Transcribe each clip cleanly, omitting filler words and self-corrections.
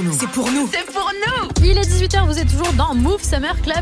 nous. C'est pour nous. C'est pour nous. Il est 18h, vous êtes toujours dans Move Summer Club.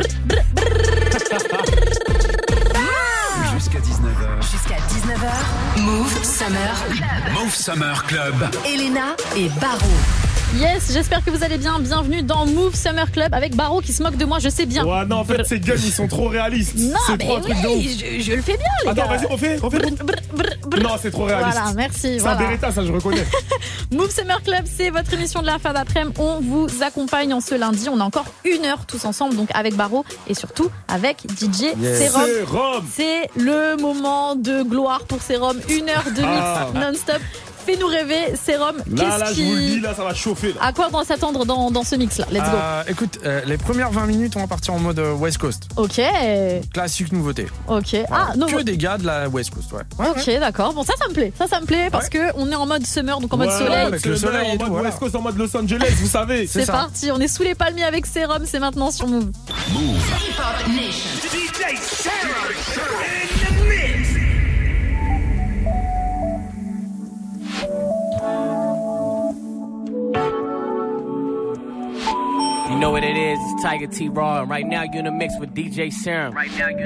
Jusqu'à 19h. Jusqu'à 19h. Move Summer. Move Summer Club. Elena et Baro. Yes, j'espère que vous allez bien. Bienvenue dans Move Summer Club avec Baro qui se moque de moi, je sais bien. Ouais, non, en fait, ces guns, ils sont trop réalistes. Non, c'est mais trop un truc de ouf. oui, je le fais bien, les Attends, gars. vas-y, refais. Non, c'est trop réaliste. Voilà, merci. C'est Voilà. un Beretta, ça, je reconnais. Move Summer Club, c'est votre émission de la fin d'après-midi. On vous accompagne en ce lundi. On a encore 1 heure tous ensemble, donc avec Baro et surtout avec DJ Serum. Serum. C'est le moment de gloire pour Serum. 1 heure de mix non-stop. Fais-nous rêver, Serum. Là, je vous le dis, là, ça va chauffer. Là. À quoi on doit s'attendre dans ce mix-là? Let's go. Écoute, les premières 20 minutes, on va partir en mode West Coast. Ok. Classique nouveauté. Ok. Ah, non. Que des gars de la West Coast, ouais. Ok, d'accord. Bon, ça me plaît. Ça me plaît parce que on est en mode summer, donc en mode soleil. Avec le soleil et en tout, mode voilà. West Coast, en mode Los Angeles, vous savez. C'est parti. On est sous les palmiers avec Serum. C'est maintenant sur Move. Hip-Hop Nation. DJ Serum in the mix. You know what it is, it's Tiger T Raw, and right now you're in the mix with DJ Serum.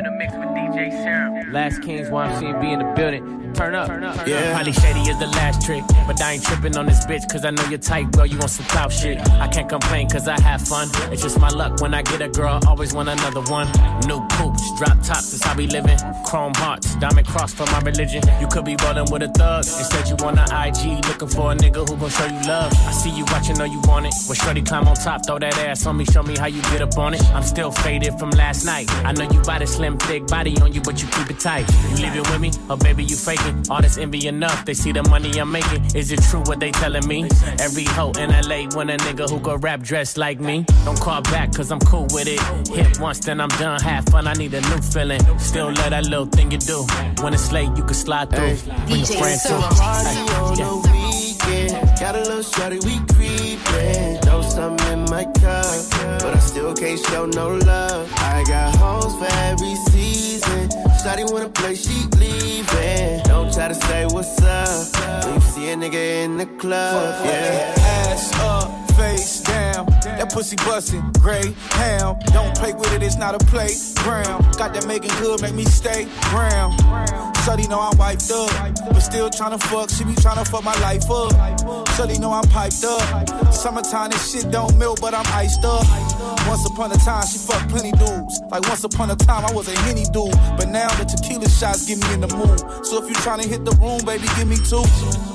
Last Kings YMCMB in the building. Turn up. Yeah. Probably shady is the last trick, but I ain't tripping on this bitch, cause I know you're tight, girl, you want some clout shit. I can't complain cause I have fun, it's just my luck when I get a girl, always want another one. New poops, drop tops, that's how we living. Chrome hearts, diamond cross for my religion. You could be rolling with a thug, instead you on the IG, looking for a nigga who gon' show you love. I see you watching, know you want it, well shorty climb on top, throw that ass on me, show me how you get up on it. I'm still faded from last night, I know you got a slim thick body on you, but you keep it tight. You leave it with me, or baby you faking. All this envy enough, they see the money I'm making. Is it true what they telling me? Every hoe in LA want a nigga who go rap dressed like me. Don't call back cause I'm cool with it. Hit once then I'm done, have fun, I need a new feeling. Still love that little thing you do. When it's late you can slide through. Bring your friends too. Party on the weekend. Got a little shawty, we creepin'. Throw something in my cup, but I still can't show no love. I got hoes for every season. Shawty wanna play, she leaving. Don't try to say what's up when you see a nigga in the club. Yeah. Ass up, face down. That pussy bustin', gray ham. Don't play with it, it's not a playground. Got that making good, make me stay brown. Shawty know I'm wiped up, but still tryna fuck. She be tryna fuck my life up. Shawty know I'm piped up. Summertime, this shit don't melt, but I'm iced up. Once upon a time, she fucked plenty dudes. Like once upon a time, I was a Henny dude. But now the tequila shots get me in the mood. So if you tryna hit the room, baby, give me 2.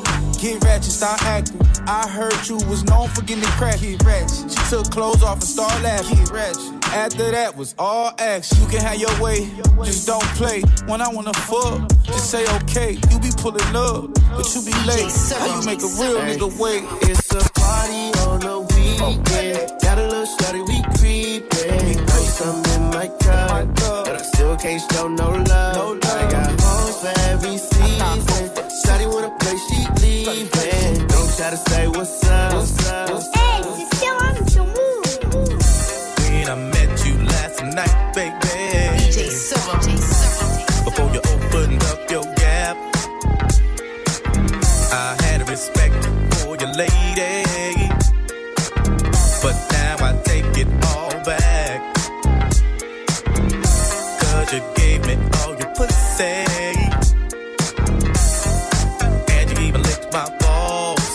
Get ratchet, start acting. I heard you was known for getting crack. Get ratchet. She took clothes off and started laughing. Get ratchet. After that was all action. You can have your way, just don't play. When I wanna fuck, just say okay. You be pulling up, but you be late. How you make a real nigga wait? It's a party on the weekend. Got a little shawty, we creepin'. Throw something in my cup, but I still can't show no love. I got hoes for every season. Shawty wanna play, she leaving. Don't try to say what's up. Hey, c'est Serum sur Move. When I met you last night, baby. DJ Serum. Before you opened up your gap, I had respect for your lady, but now I take it all back. Cause you gave me all your pussy, and you even licked my balls.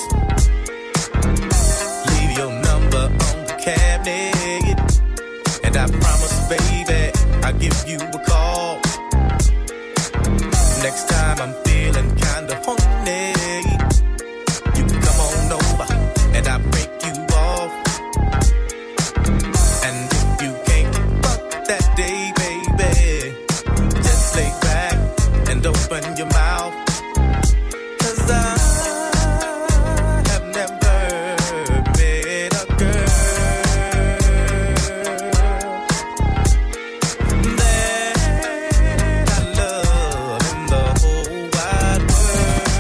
Leave your number on the cabinet, and I promise, baby, I'll give you a call. Next time I'm feeling kinda horny, you can come on over and I break you off. And if you can't fuck that day, baby, just lay back and open your mouth. Cause I have never met a girl that I love in the whole wide world.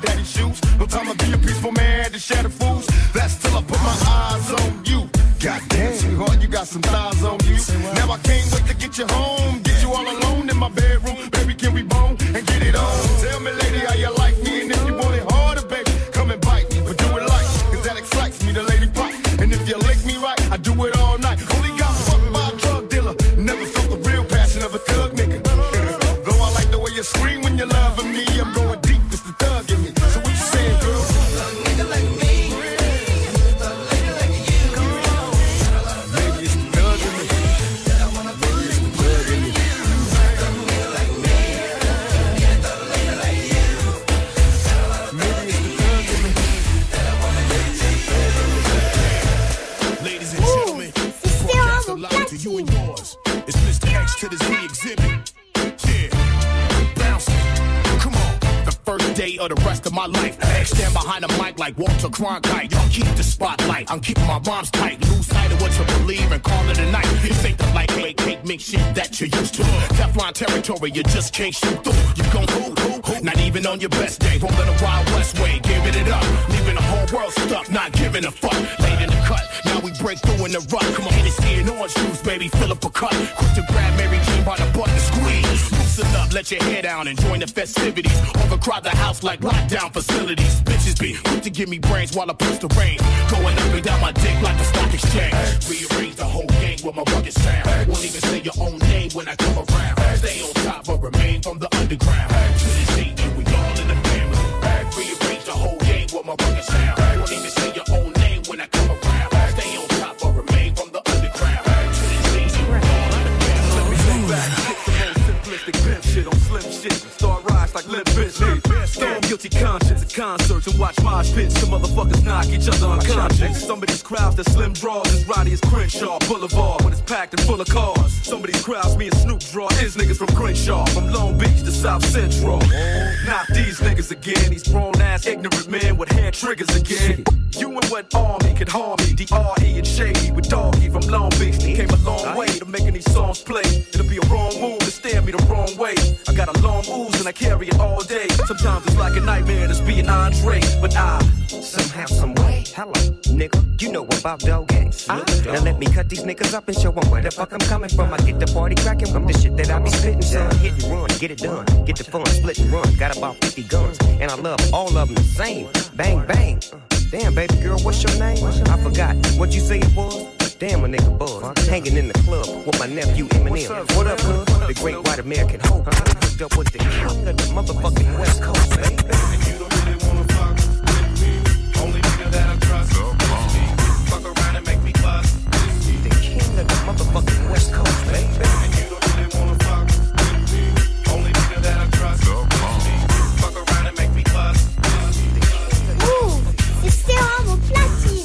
daddy's shoes. No time to be a peaceful man to shatter fools. That's till I put my eyes on you. Goddamn, sweetheart, you got some thighs on you. Now I can't wait to get you home. Get you all alone in my bedroom. Baby, can we bone and get it on? Tell me, lady, how you like me? And if you want it harder, baby, come and bite me. But do it like, cause that excites me, the lady pop. And if you lick me right, I do it all night. Only got fucked by a drug dealer. Never felt the real passion of a thug nigga. Though I like the way you scream when you're loving me, I'm going deep, it's the thug in me. So what you saying, girl? A nigga like me. To you and yours, it's Mr. X to the Z exhibit. Yeah, bounce it. Come on. The first day of the rest of my life, X stand behind the mic like Walter Cronkite. Y'all keep the spotlight. I'm keeping my rhymes tight. Lose sight of what you believe and call it a night. You think the lightweight cake make shit that you're used to. Teflon territory, you just can't shoot through. You gon' who? Not even on your best day. Rolling a Wild West way, giving it up. Leaving the whole world stuck, not giving a fuck. Late in the cut, now we break through in the rut. Come on, Hennessy and orange juice, baby, fill up a cut. Quick to grab Mary Jane by the butt and squeeze. Loosen up, let your hair down and join the festivities. Overcrowd the house like lockdown facilities. Bitches be quick to give me brains while I push the rain. Going up and down my dick like a stock exchange. Rearrange the whole gang with my rugged sound. Won't even say your own name when I come around. Stay on top but remain from the underground. To this day, we all in the family. Rearrange the whole gang with my rugged sound. Won't even say your own name when I come around. Stay on top but remain from the underground. To this day, we all in the family. Let me stay back, get the most simplistic pimp shit on slim shit. Start rise like Limp Bizkit. Storm guilty conscience at concerts and watch mosh pits. Some motherfuckers knock each other unconscious. Some of these crowds that slim draws as rowdy as Crenshaw Boulevard when it's packed and full of cars. Some of these crowds me and Snoop draw is niggas from Crenshaw, from Long Beach to South Central. Not these niggas again, these grown ass ignorant men with hair triggers again. You and what army could harm me? D.R.E. and Shady with Doggy from Long Beach. They came a long way to making these songs play. It'll be a wrong move to stare me the wrong way. I got a long ooze and I carry it all day. Sometimes it's like a nightmare that's being Andre, but I somehow, some way. Hello, nigga, you know about dog gangs. Now let me cut these niggas up and show them where the fuck I'm coming from. I get the party cracking with the shit that I be spitting, son. Hit and run, get it done, get the fun, split and run. Got about 50 guns, and I love all of them the same. Bang, bang. Damn, baby girl, what's your name? I forgot what you say it was. Damn, a nigga buzz. Hanging in the club with my nephew Eminem. What up, cuz? The great white American hope. Hooked up with the king of the motherfucking West Coast, baby. And you don't really wanna fuck with me. Only nigga that I trust is me. Fuck around and make me bust. The king of the motherfucking West Coast, baby. And you don't really wanna fuck with me. Only nigga that I trust is me. Fuck around and make me bust. C'est Serum au platine.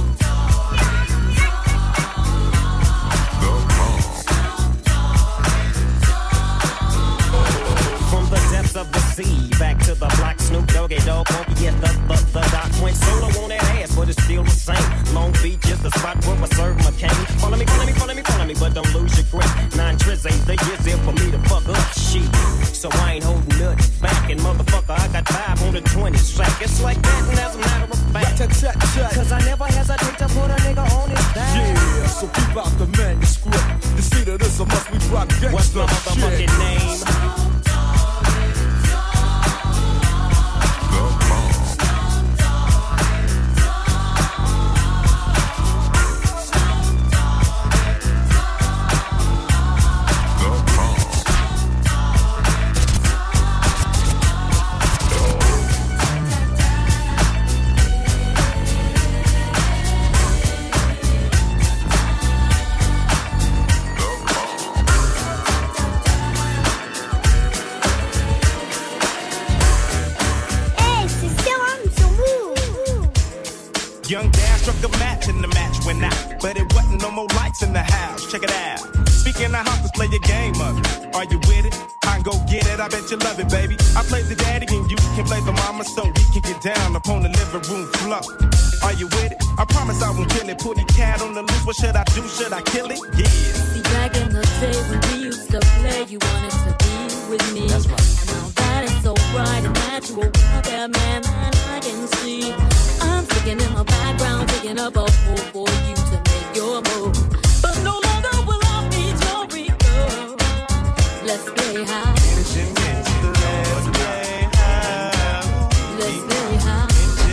Of the sea, back to the block, Snoop Doggy Dogg, funky at the doc. Went solo on that ass, but it's still the same. Long Beach is the spot where I serve my cane. Follow me, but don't lose your grip. 9 trizz ain't the years there for me to fuck up shit. So I ain't holding nothing back, and motherfucker, I got 5 on the 20 sack. It's like that, and as a matter of fact, cause I never hesitate to put a nigga on his back. Yeah, so keep out the manuscript. You see that this or must we drop gangsta. What's my motherfucking name? Young Dad struck a match and the match went out. But it wasn't no more lights in the house. Check it out. Speaking of house, let's play your game of it. Are you with it? I can go get it. I bet you love it, baby. I play the daddy and you can play the mama so we can get down upon the living room floor. Are you with it? I promise I won't kill it. Put the cat on the loose. What should I do? Should I kill it? Yeah. See, back in the day when we used to play, you wanted to be with me. That's right. Now that it's over. bright and natural. What that man that I can see. I'm sticking in my background, picking up a hole for you to make your move. But no longer will I be your Rico. Let's play high. Let's play high. Let's play high.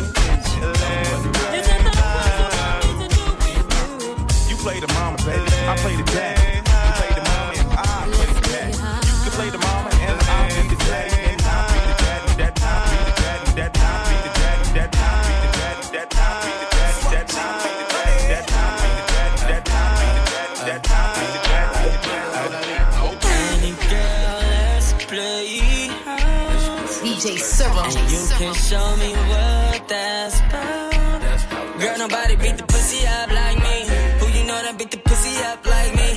You play the mama, baby. I play the dad. You play the mama and I play the dad. You can play the mama and I play the dad. And I be the daddy. That time be the daddy. That time be the daddy. That time be the daddy. That time be the daddy. That time be the daddy. That time be the daddy. That time be the daddy. That time be the daddy. Any girl, let's play house. DJ Serum. And you can show me what that's about. Girl, nobody beat the pussy up like me. Who you know that beat the pussy up like me?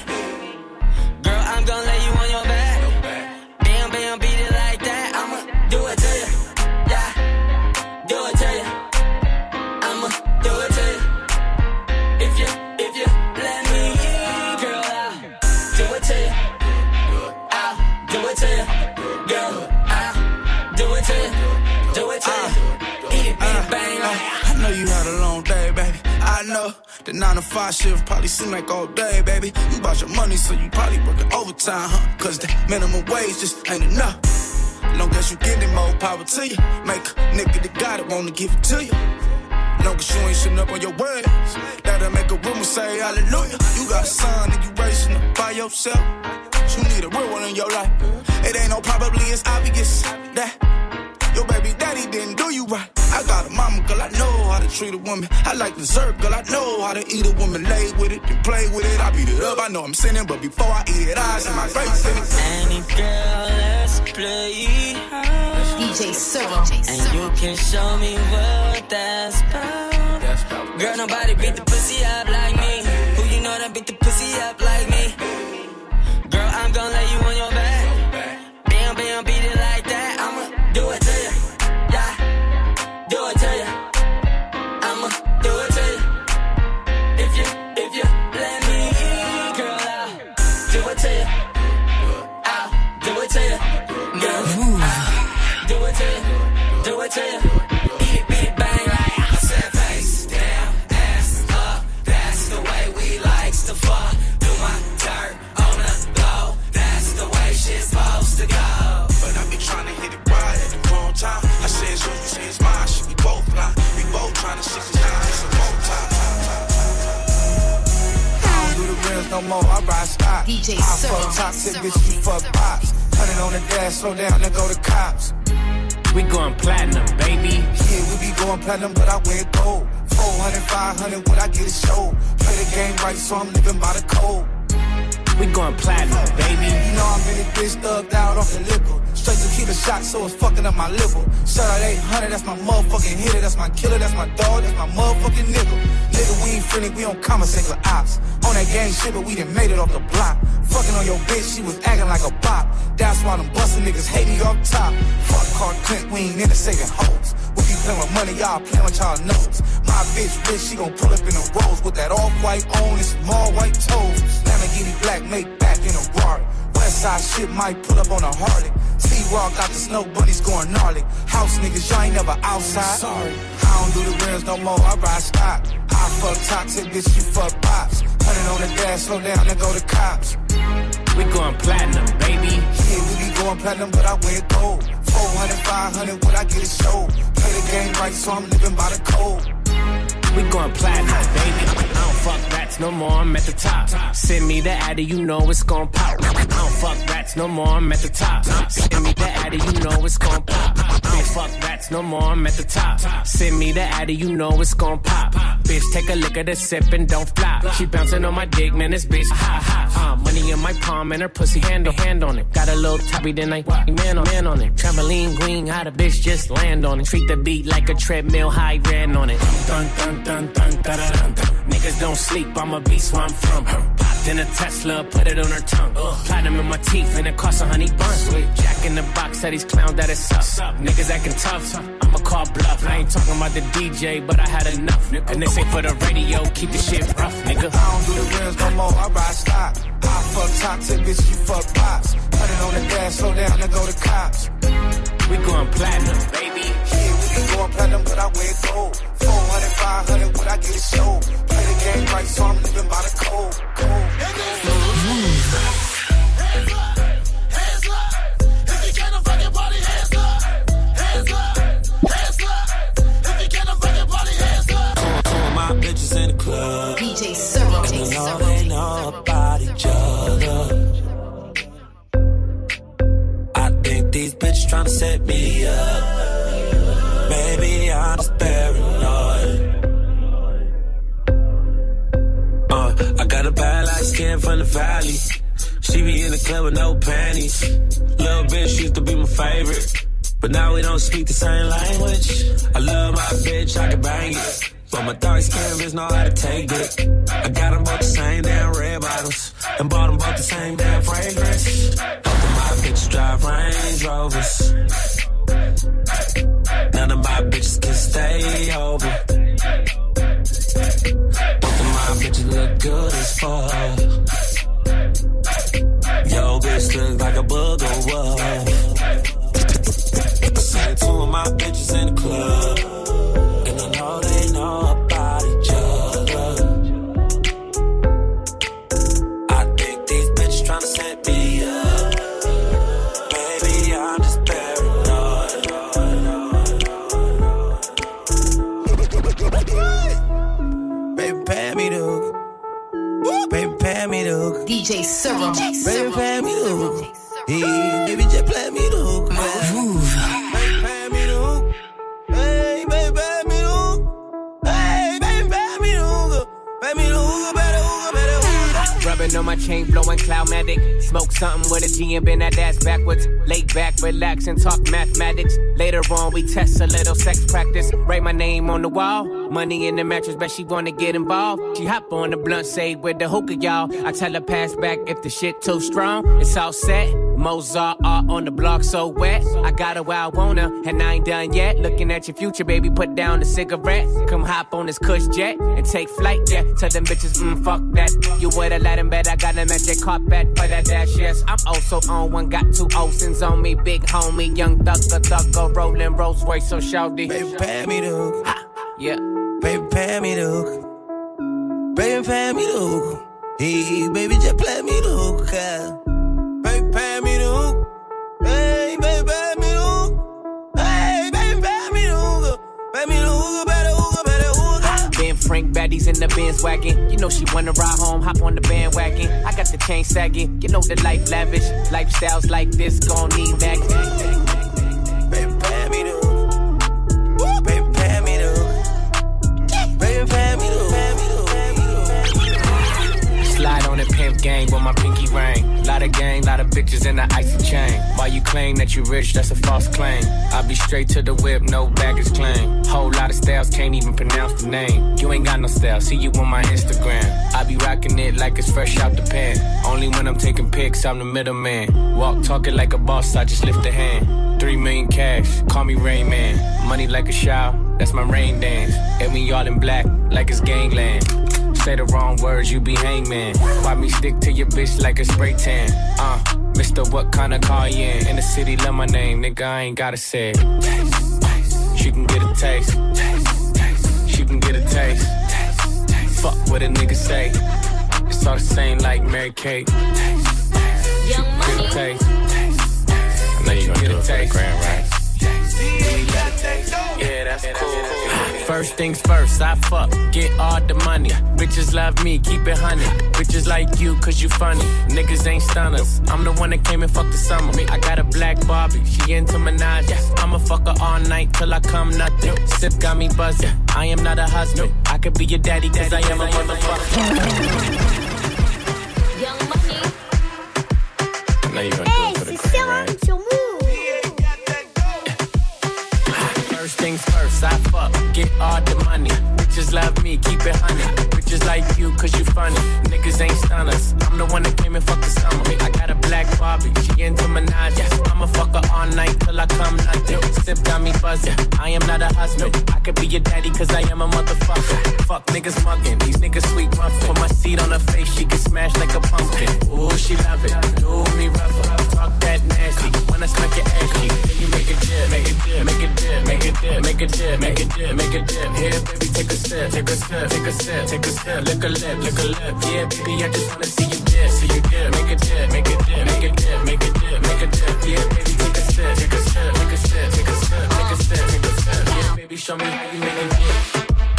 Girl, I'm gonna lay you on your back. Bam, bam, beat it like that. I'ma do it to you. Yeah, do it to you. I'ma do it to you. If you let me, girl, I'll do it to you. I'll do it to you. Girl, I'll do it to you. Do it to you. Eat it, bang. I know you had a long day, baby. I know the 9 to 5 shift probably seem like all day, baby. You bought your money, so you probably working overtime, huh? Cause the minimum wage just ain't enough. Long as you getting more power to you. Make a nigga that got it wanna give it to you. Long as you ain't shitting up on your words, that'll make a woman say hallelujah. You got a son and you raising up by yourself. You need a real one in your life. It ain't no probably, it's obvious that your baby daddy didn't do you right. I got a mama, girl, I know how to treat a woman. I like dessert, girl, I know how to eat a woman. Lay with it and play with it. I beat it up, I know I'm sinning, but before I eat it, eyes in my face. Any girl, let's play house. DJ Serum. And you can show me what that's about. Girl, nobody beat the pussy up like me. Who you know that beat the pussy up like me? Girl, I'm gonna lay you on your back. Bam, bam, beat it like that. I'ma do it to you. Yeah, do it to you. I'ma do it to you. If you let me, girl, I'll do it to you. I'll do it to you. Girl, I'll do it to you. Do it to you. Beat it, bang like I said. Face down, ass up. That's the way we likes to fuck. Do my dirt on the low. That's the way shit's supposed to go. But I be trying to hit it right at the wrong time. I say it's yours, you say it's mine. Shit, we both blind. We both trying to shit this down just a more time. I don't do the rims no more, I ride stock. DJ I fuck toxic, bitch, you fuck pops. 100 on the dash, slow down, then go to cops. We going platinum, baby. Yeah, we be going platinum, but I wear gold. 400, 500, when I get a show. Play the game right, so I'm living by the code. We going platinum, baby. You know I'm in this bitch thugged out off the liquor. Straight to keep a shot, so it's fucking up my liver. Shout out 800, that's my motherfucking hitter. That's my killer, that's my dog, that's my motherfucking nigga. Nigga, we ain't friendly, we don't conversate with ops. On that gang shit, but we done made it off the block. Fucking on your bitch, she was acting like a bop. That's why them bustin' niggas hate me off top. Fuck Clark Clint, we ain't into saving hoes. We be playing with money, y'all playing with y'all nose. My bitch rich, she gon' pull up in the rose with that off-white on and small white toes. Lamborghini black, make back in a Rari. Westside shit might pull up on a Harley. T-Raw got the snow bunnies going gnarly. House niggas, y'all ain't never outside. Sorry, I don't do the rims no more, I ride stock. I fuck toxic, bitch, you fuck pops. 100 on the dash, slow down, then go to cops. We going platinum, baby. Yeah, we be going platinum, but I wear gold. 400, 500, when I get a show. Play the game right, so I'm living by the code. We going platinum, baby. I don't fuck rats no more, I'm at the top. Send me the addy, you know it's gon' pop. I don't fuck rats no more, I'm at the top. Send me the addy, you know it's gon' pop. I don't fuck rats no more, I'm at the top. Send me the addy, you know it's gon' pop. Bitch, take a lick of the sip and don't flop. She bouncing on my dick, man, this bitch hot. Money in my palm and her pussy hand on it. Got a little toppy, then I man on it. Trampoline queen, how the bitch just land on it. Treat the beat like a treadmill, high ran on it. Dun dun dun dun dun dun dun. Niggas don't sleep, I'm a beast where I'm from. Popped in a Tesla, put it on her tongue. Platinum in my teeth and it costs a honey bun. Jack in the box, said these clowns that it's up. Niggas acting tough, I'ma call bluff. I ain't talking about the DJ, but I had enough. And this ain't for the radio, keep the shit rough, nigga. I don't do the rims no more, I ride stock. I fuck toxic, bitch, you fuck pops. 100 on the dash, slow down, then go to cops. we going platinum, baby. Yeah, we be going platinum, but I wear gold. 400, 500, what I get is sold. Play the game right, so I'm living by the code. Bitches in the club. DJ Serum. And you know they know about each other. I think these bitches tryna set me up. Maybe I'm just paranoid. I got a bad light skin from the valley. She be in the club with no panties. Little bitch used to be my favorite, but now we don't speak the same language. I love my bitch, I can bang it, but my dark skin bitch know how to take it. I got them both the same damn red bottles, and bought them both the same damn fragrance. Both of my bitches drive Range Rovers. None of my bitches can stay over. Both of my bitches look good as fuck. Yo, bitch look like a booger wolf. Seen two of my bitches in the club, and I know they know about each other. I think these bitches tryna set me up. Baby, I'm just paranoid. Baby, pay me the hook. Baby, pay me the hook. DJ Serum. Baby, pay me the hook. Hey, baby, just play me the hook. Move. Baby, pay me the hook. Hey, baby, pay me the hook. Hey, baby, pay me the hook. Pay me the hook, better hook, better hook. Rubbing on my chain, blowing Cloudmatic. Smoke something with a G and bend that ass backwards. Lay back, relax, and talk mathematics. Later on, we test a little sex practice. Write my name on the wall. Money in the mattress, bet she wanna get involved. She hop on the blunt, say with the hookah, y'all. I tell her pass back if the shit too strong. It's all set. Mozart art on the block so wet. I got her where I want her, and I ain't done yet. Looking at your future, baby, put down the cigarette. Come hop on this Kush jet and take flight, yeah. Tell them bitches, fuck that. You with a Latin bed, I got a magic carpet for that dash, yes. I'm also on one, got two Olsen's on me. Big homie, young thugger, rolling Rolls Royce, so shawty. Baby, pay me the hook. Yeah. Baby, pay me the hook. Baby, pay me the hook. Hey, baby, just play me the hook. Baby, pay me the hook. Hey, baby, pay me the hook. Hey, baby, pay me the hook. Pay me the hook, better hook, better hook. Ben Frank, baddies in the Benz wagon. You know she wanna ride home, hop on the bandwagon. I got the chain sagging, you know the life lavish. Lifestyles like this gon' need back. Baby, pay me the hook. Baby, pay me the hook. Baby, pay me the hook. Slide on the pimp gang with my pinky ring. Lot of gang, lot of bitches in the icy chain. While you claim that you rich, that's a false claim. I be straight to the whip, no baggage claim. Whole lot of styles, can't even pronounce the name. You ain't got no style, see you on my Instagram. I be rocking it like it's fresh out the pan. Only when I'm taking pics, I'm the middleman. Walk talking like a boss, I just lift a hand. 3 million cash, call me Rain Man. Money like a shower, that's my rain dance. And we all in black, like it's gangland. Say the wrong words, you be hangman. Why me stick to your bitch like a spray tan? Mister, what kind of car you in? In the city, love my name, nigga, I ain't gotta say it. She can get a taste. She can get a taste. Fuck what a nigga say. It's all the same like Mary Kate. Young Money. Get a taste. I know you gonna do it for the grand, right? Yeah, that's cool. First things first, I fuck, get all the money. Bitches love me, keep it honey. Bitches like you, cause you funny. Niggas ain't stunners. I'm the one that came and fucked the summer. I got a black Barbie, she into Minaj. I'ma fuck her all night till I come nothing. Sip got me buzzing, I am not a husband. I could be your daddy, cause I am a motherfucker. Young Money. I know you gonna do it for the grand, right? First things first, I fuck, get all the money. Bitches love me, keep it honey. Bitches like you, cause you funny. Niggas ain't stunners. I'm the one that came and fucked the summer. I got a black Barbie, she into Minaj. I'ma fuck her all night till I come nothing. Sip got me buzzing, I am not a husband. I could be your daddy, cause I am a motherfucker. Fuck niggas mugging, these niggas sweet muffin. Put my seed on her face, she get smashed like a pumpkin. Ooh, she love it, do me rougher. Talk that nasty. When wanna smack your ass cheek. You make it dip, make it dip, make it dip, make it dip, make it dip, make it dip, make it dip. Here, baby, take a sip, take a sip, take a sip, take a sip. Lick a lip, lick a lip. Yeah, baby, I just wanna see you dip, see you dip. Make it dip, make it dip, make it dip, make it dip, make it dip. Yeah, baby, take a sip, take a sip, take a sip, take a sip, take a sip, take a sip. Yeah, baby, show me how you make it dip.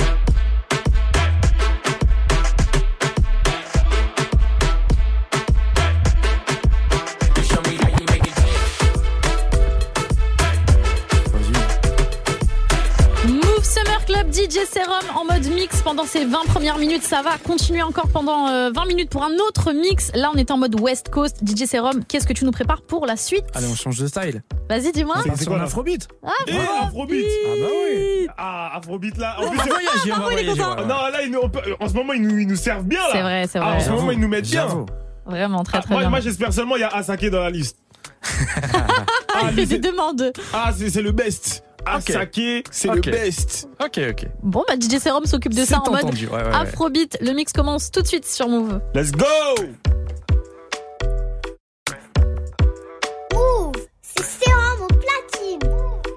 DJ Serum en mode mix pendant ces 20 premières minutes. Ça va continuer encore pendant 20 minutes pour un autre mix. Là, on est en mode West Coast. DJ Serum, qu'est-ce que tu nous prépares pour la suite? Allez, on change de style. Vas-y, dis-moi. C'est quoi l'Afrobeat? Afrobeat. Ah bah oui. Afrobeat là. En plus, on va voyager. Non, là, en ce moment, ils nous servent bien là. C'est vrai, c'est vrai. En ce moment, ils nous mettent bien. Vraiment, très bien. Moi, j'espère seulement il y a Asake dans la liste. Il fait des demandes. C'est le best. Asake, c'est le best. Ok. Bon, bah DJ Serum s'occupe de ça en mode ouais. Afrobeat. Le mix commence tout de suite sur Move. Let's go! Move, c'est Serum au platine.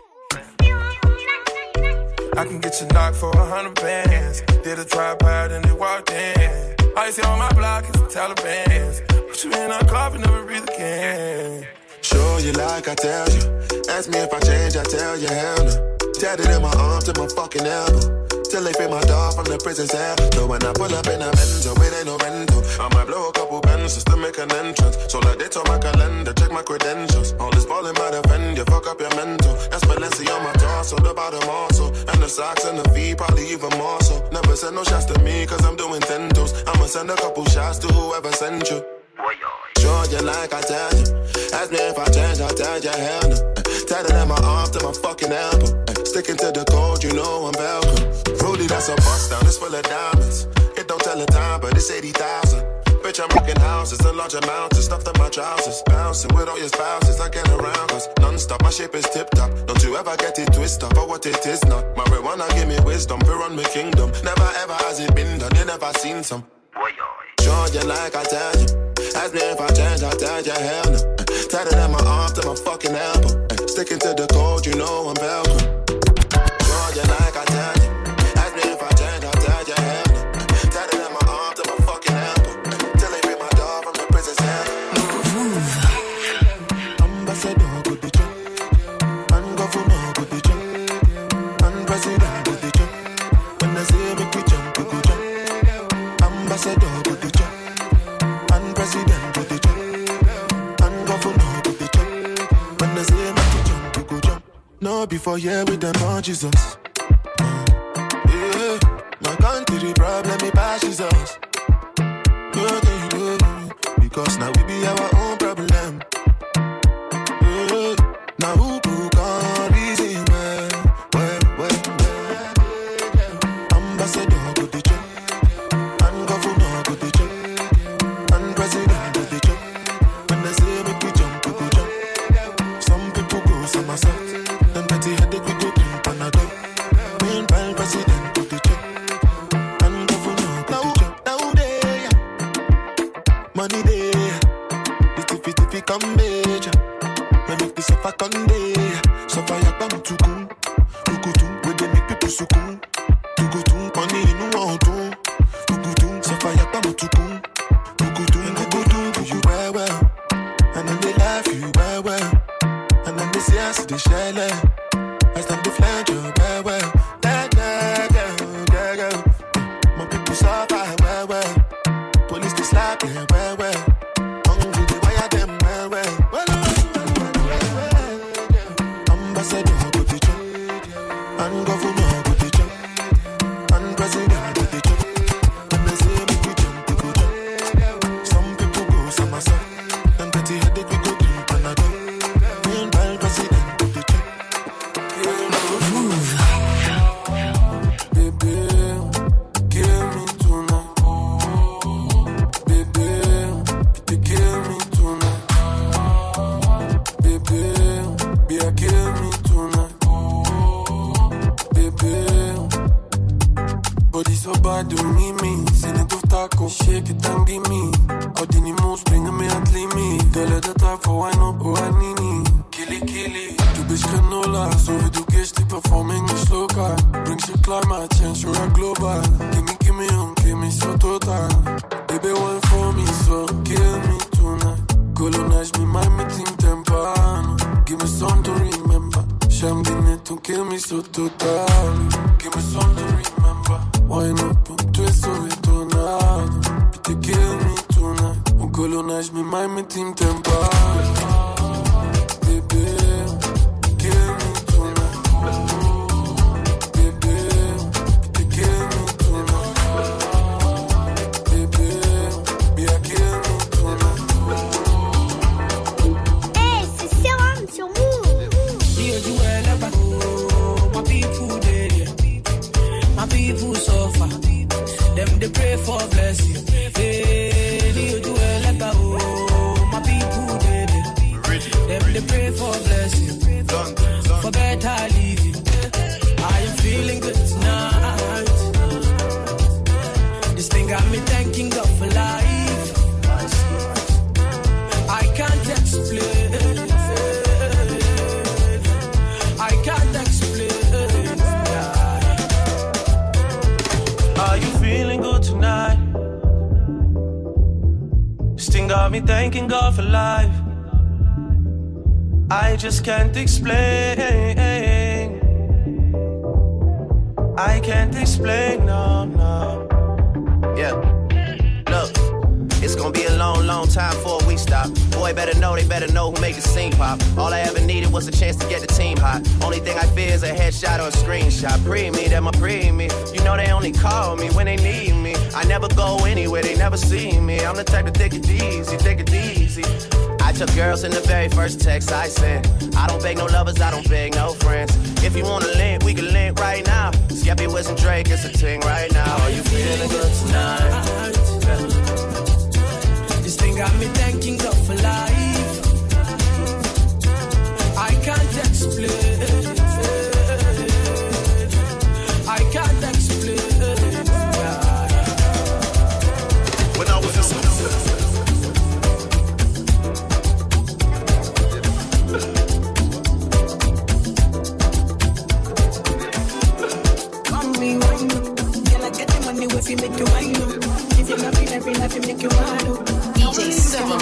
I can get you knocked for 100 bands. Did a tripod and they walked in. All you see on my block is the Taliban. Put you in a coffin, never breathe again. Show you like I tell you. Ask me if I change, I tell you hell no. Tatted in my arm to my fucking elbow. Till they free my dog from the prison cell. So when I pull up in a Benzo, it ain't no rental. I might blow a couple bands just to make an entrance. So like they told my calendar, check my credentials. All this ballin' might offend you, fuck up your mental. That's Balenci on my torso, the bottom also. And the socks and the feet, probably even more so. Never send no shots to me, cause I'm doing tentos. I'ma send a couple shots to whoever sent you. Sure you like I tell you. Ask me if I change, I tell you hell no. Tatted in my arm to my fucking elbow. Sticking to the code, you know I'm welcome. Rudy, that's a bust down, it's full of diamonds. It don't tell the time, but it's 80,000. Bitch, I'm rocking houses and large amounts of stuff in my trousers. Bouncing with all your spouses, I get around cause non-stop, my shape is tip-top. Don't you ever get it twisted for what it is not. Marijuana give me wisdom, fear on my kingdom. Never ever has it been done, you never seen some. Sure you like I tell you. Ask me if I change, I tell you hell no. Tatted in my arm to my fucking elbow. Sticking to the code, you know I'm welcome. Sure you like I tell you. Ask me if I change, I tell you hell no. Tatted in my arm to my fucking elbow. Till they free my dog from the prison cell. Ambassador, good the job. And governor, good the job. And president, good the job. When I say make we jump, we go jump. Ambassador, good the job. And president, good the job. And governor, good the job. When I say make we jump, we go jump. No, before here with them on Jesus. Yeah, my country problem, me passes us. Because now we be our own problem. Now who can reason well. Ambassador go the job, and governor go the job, and president go the job. When they say make we jump, we go jump. Some people go somersault, them petty headache we go drink Panadol. Meanwhile president go the job, and governor go the job. Now they money there, if it come major. We make this suffer Conde, suffer yakam tukun, tukutum. We they make people sukun, tukutum. Money in one too, tukutum. Suffer yakam tukun, tukutum. Tukutum do you well, and then they laugh you well, and then they say I see the shell, as them they flange you well. My people suffer well, police they slap them well. Hungry they wire them well. Ambassador go the job, and governor go the job, and president go the job. When they say make we jump, we go jump. Some people go somersault, them petty headache we go drink Panadol. Meanwhile president go the job. Baby, kill me tonight. Baby, you kill me tonight. Baby, be a kill me tonight. Baby, body so bad, do me. Send it off taco, shake it and gimme. Ordini moves, bring me at me. Tell her that I for wine up, oh I need. Kili. Du bist Granola, so wie du gehst, die Performing nicht lokal. Bringst du Climate Change oder global? Give me so total. Baby, one for me, so kill me tonight. Colonize me, mind me, think tempano. Give me some to remember. Sham Guinea to kill me so total. Give me some to remember. Wine up and twist so it tornado. Pity kill me tonight. Colonize me, mind me, think tempano. People suffer, them they pray for blessing. Hey, you do it like a my people them they pray for blessing, for better living. I am feeling good tonight. This thing got me thanking God for life. I can't explain. I can't explain. Are you feeling good tonight? This thing got me thanking God for life. I just can't explain. I can't explain, no. Yeah, look, it's gonna be a long time before we stop. Boy, they better know who made the scene pop. All I ever needed was a chance to get the team hot. Only thing I fear is a headshot or a screenshot. Pre-me, them a pre-me. You know they only call me when they need me. I never go anywhere, they never see me. I'm the type to take it easy. I took girls in the very first text I sent. I don't beg no lovers, I don't beg no friends. If you wanna link, we can link right now. Skeppy, Wiz, and Drake, it's a thing right now. Are you feeling good tonight? This thing got me thanking God for life. I can't explain. I can't explain. When I was in if you make you wine up. If you love me every night, you make you wine up. DJ Servo.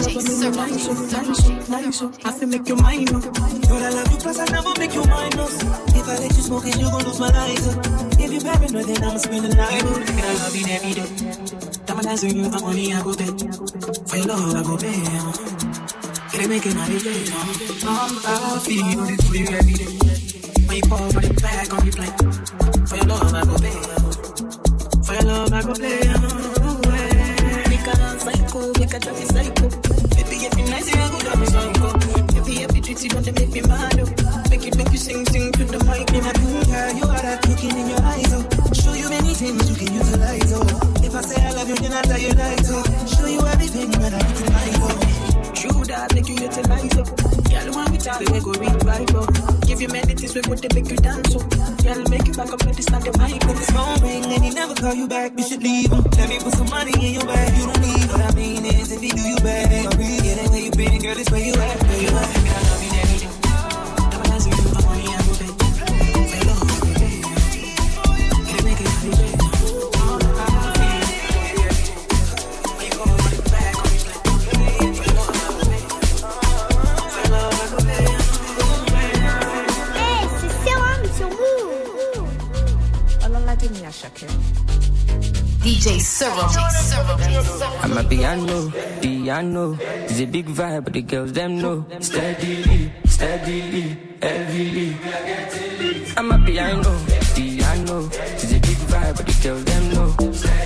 I feel make you mine up. But I love you plus I never make you minus. If I let you smoke it, you gon' lose my lighter. If you paranoid, then I'ma spend the night. And I love you every day. Time I dance with you, I'm money I go pay. For your love I go pay. Can I make it my day? I feel you this for you every day. When you fall for the back on the plane. For your love I go pay. For your love, I go play. Make a psycho, make a traffic psycho. Baby, if you nice, you go down me psycho. If you treat you, don't make me mad. Make you sing to the mic. In a good girl, you are that looking in your eyes. Show you many things you can utilize. If I say I love you, then I tell you lies. Show you everything that I utilize. True that, make you utilize. Girl, when we talk, we go read Bible. Give you many things, we would make you dance. Girl, make you back up, let this not the mic. If it's phone ring and he never call you back, you should leave him. Let me put some money in your bag. You don't need what I mean is if he do you bad, then I'll really get it where you been. Girl, it's where you at, where you at. I love you every day. Never dance with you, I'm money, I go pay. For love, I go pay. Can I make it every day? DJ Servo. I'm a piano. It's a big vibe, but the girls them know. Steadily, heavily. I'm a piano. It's a big vibe, but the girls them know.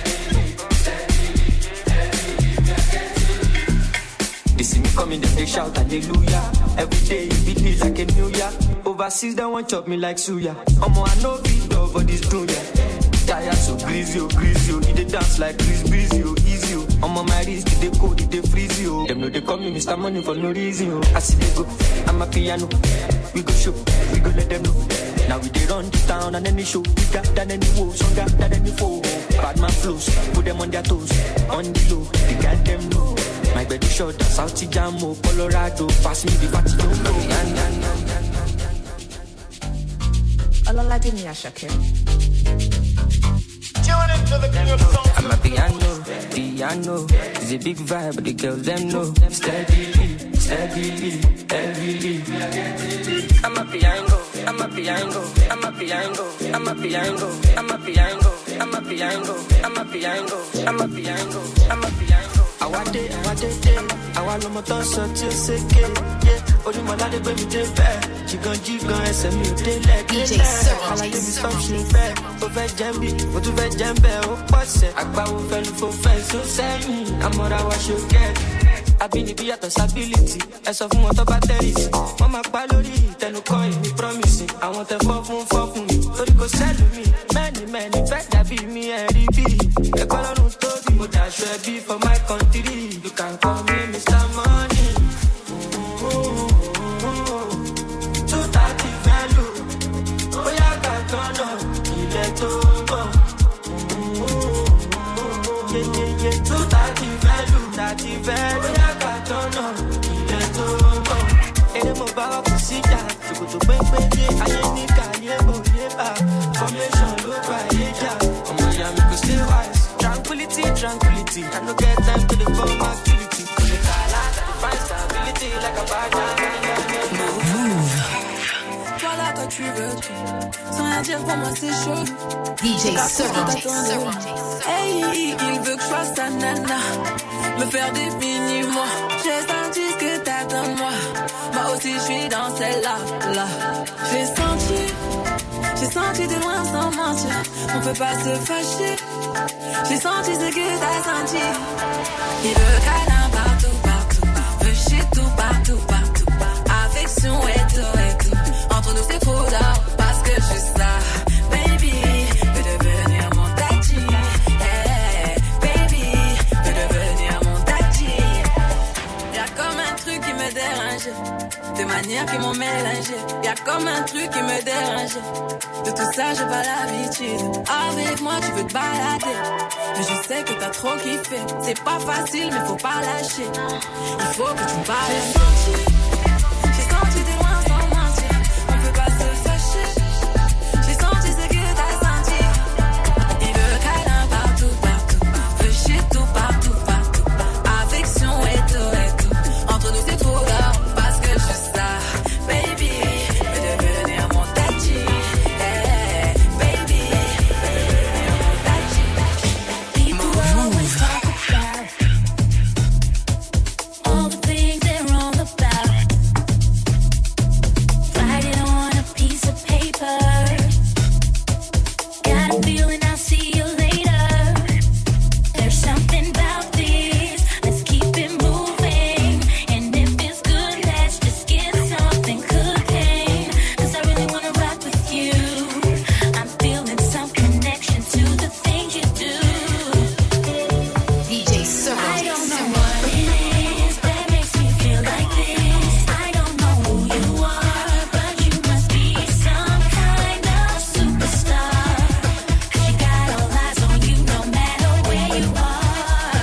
They see me coming, they shout hallelujah. Every day it be like a new year. Overseas they want chop me like suya. I know beat up for this dunya. Tired so greasy, they dance like breezy, easy. I'm on my wrist, they code, they freeze you. Them know they call me Mr. Money for no reason. I see they go, I'm a piano. We go show, we go let them know. Now we they run the town and any show bigger than any woe, stronger than any foe. bad man flows. Put them on their toes, on the low, they got them low. My bed is short, South Jamo, Colorado, pass me the party, don't know. Ololade ni Asake. I'm a piano, it's a big vibe, but the girls them know. Steadily, heavily. I'm a piano. I want no more so to say, yeah. Only my lady baby dey fair. Jigan, SMU dey like DJ Serum. I like to be something fair. Over Jambi, what to be Jambe, oh, what's it? I bow fell for fence, so say me. I'm what I was you get. I've been the ability. As of motor batteries. Mama Palori, then no coin, me promising. I want a for me. Tori go sell me. Many, fact that be me and be. A color no story, but I should be for my country. You can call me Mr. Money. 230 value. Oh, yeah, got turn up. Yeah. 230 value. 30 value. Oh, yeah, got turn up. And I'm about to see that. You go to bang, I ain't need formation, look right here. Miami could stay wise. Tranquility. I don't get time to the phone activity. Find stability like a bad Move. Voilà quand tu veux tout. Sans rien dire pour moi c'est chaud. DJ Serum. Hey, il veut que je fasse sa nana. Me faire des mini-mois. J'ai senti ce que t'attends de moi. Moi aussi je suis dans celle-là. J'ai senti de loin sans mentir. On peut pas se fâcher. J'ai senti ce que t'as senti. Il veut câlin partout. Veut shit tout partout. Affection et tout. Entre nous c'est faux d'or. Parce que je suis ça. Baby, veux devenir mon daddy. Hey, baby, veux devenir mon daddy. Y'a comme un truc qui me dérange. Des manières qui m'ont mélangé. Y'a comme un truc qui me dérange. De tout ça j'ai pas l'habitude. Avec moi tu veux te balader. Mais je sais que t'as trop kiffé. C'est pas facile mais faut pas lâcher. Il faut que tu parles. J'ai senti de loin sans mentir. On peut pas se fâcher. J'ai senti ce que t'as senti. Il veut câlin partout. Veut shit tout partout. Affection et tout. Entre nous c'est trop d'or. Parce que je suis ça. Baby, veux devenir mon daddy. Hey, baby, veux devenir mon daddy. People always talk about all the things they're wrong about. Write it on a piece of paper. Got a feeling I'll see you later. There's something about this. Let's keep it moving. And if it's good, let's just get something cooking. 'Cause I really wanna rock with you. I'm feeling some connection to the things you do. DJ Serum. I don't know what it is that makes me feel like this. I don't know who you are, but you must be some kind of superstar. 'Cause you got all eyes on you no matter where you are.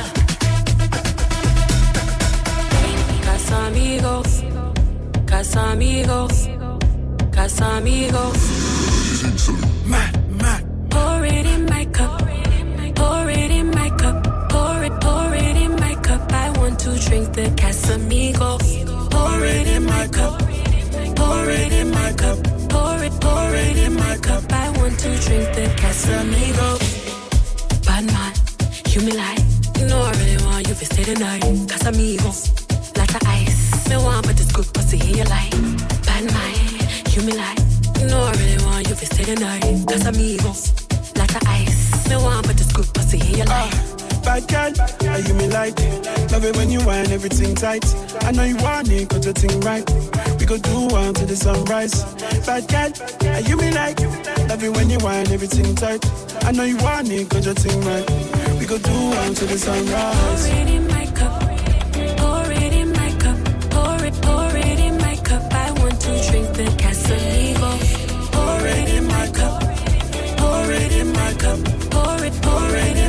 Casamigos. Mad. Pour it in my cup. Pour it in my cup. Pour it in my cup. I want to drink the Casamigos. Pour it in my cup. Pour it in my cup. Pour it in my cup. I want to drink the Casamigos. Bad man, you me like. You know I really want you to stay the night. Casamigos, lots of ice. Me want but it's good pussy in your life. Bad man, you me like. You know I really want you to stay the night. Casamigos, lots of ice. Me want but it's good pussy in your life. Bad girl, you me like. Love it when you whine everything tight. I know you want it, got your thing right. We go do one till the sunrise. Bad girl, you me like. Love it when you whine everything tight. I know you want it, got your thing right. We go do one till the sunrise. Pour it in my cup. Pour it in my cup. Pour it in my cup. I want to drink the Casamigos. Pour it in my cup. Pour it in my cup. Pour it in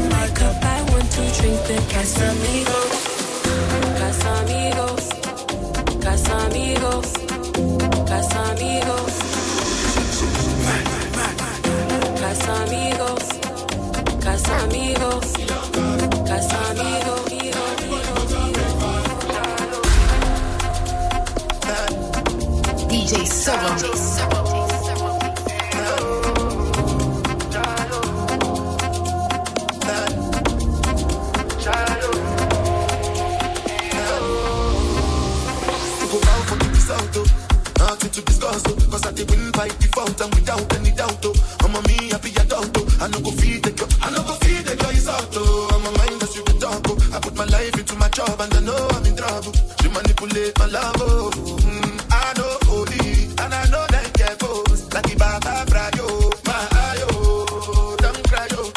To discuss, cause I did win by default and without any doubt. I'm a me happy adult. I no go feed the girl, I no go feed the girl is out. I'm a mind that's you can talk. I put my life into my job and I know I'm in trouble. She manipulate my love. I know OD and I know that get goes like the Baba Frayo, my ayo, don't cry yo.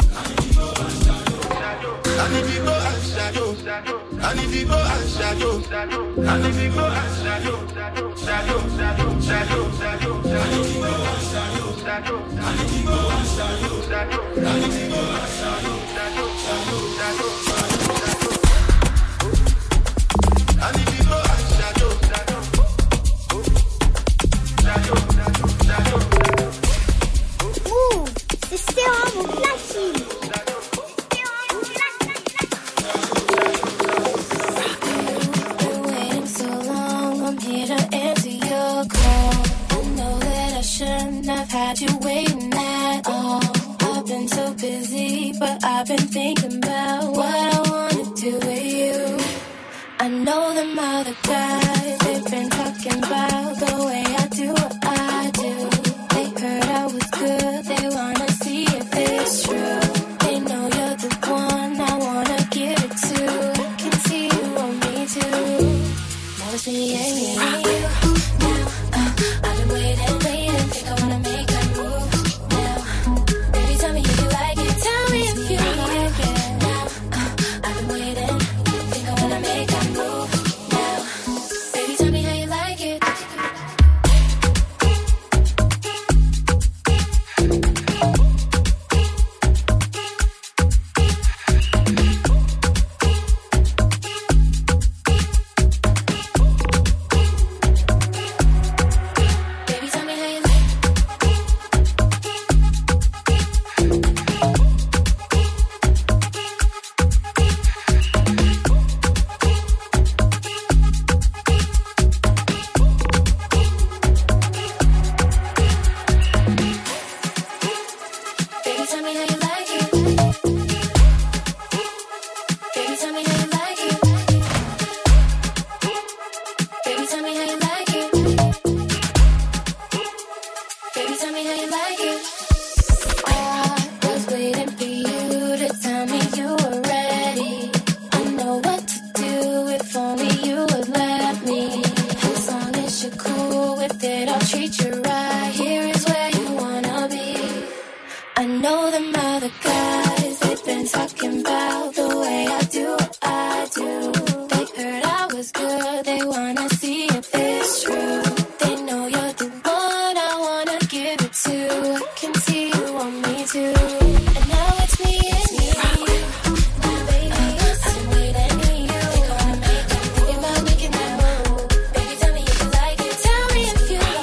And if you go and shadow, and if you go and shadow, and if you go and shadow. Ouh, c'est Serum au platine. Shouldn't have had you waiting at all. I've been so busy, but I've been thinking about what I wanna do with you. I know them other guys, they've been talking about the way I do what I do. They heard I was good, they wanna see if it's true. They know you're the one I wanna give it to. I can see you want me too. Now it's me and you. I've been waiting. Think I wanna make a move now. Baby, tell me if you like it. Tell me if you like it now. I've been waiting. Think I wanna make a move now. Baby, tell me how you like it.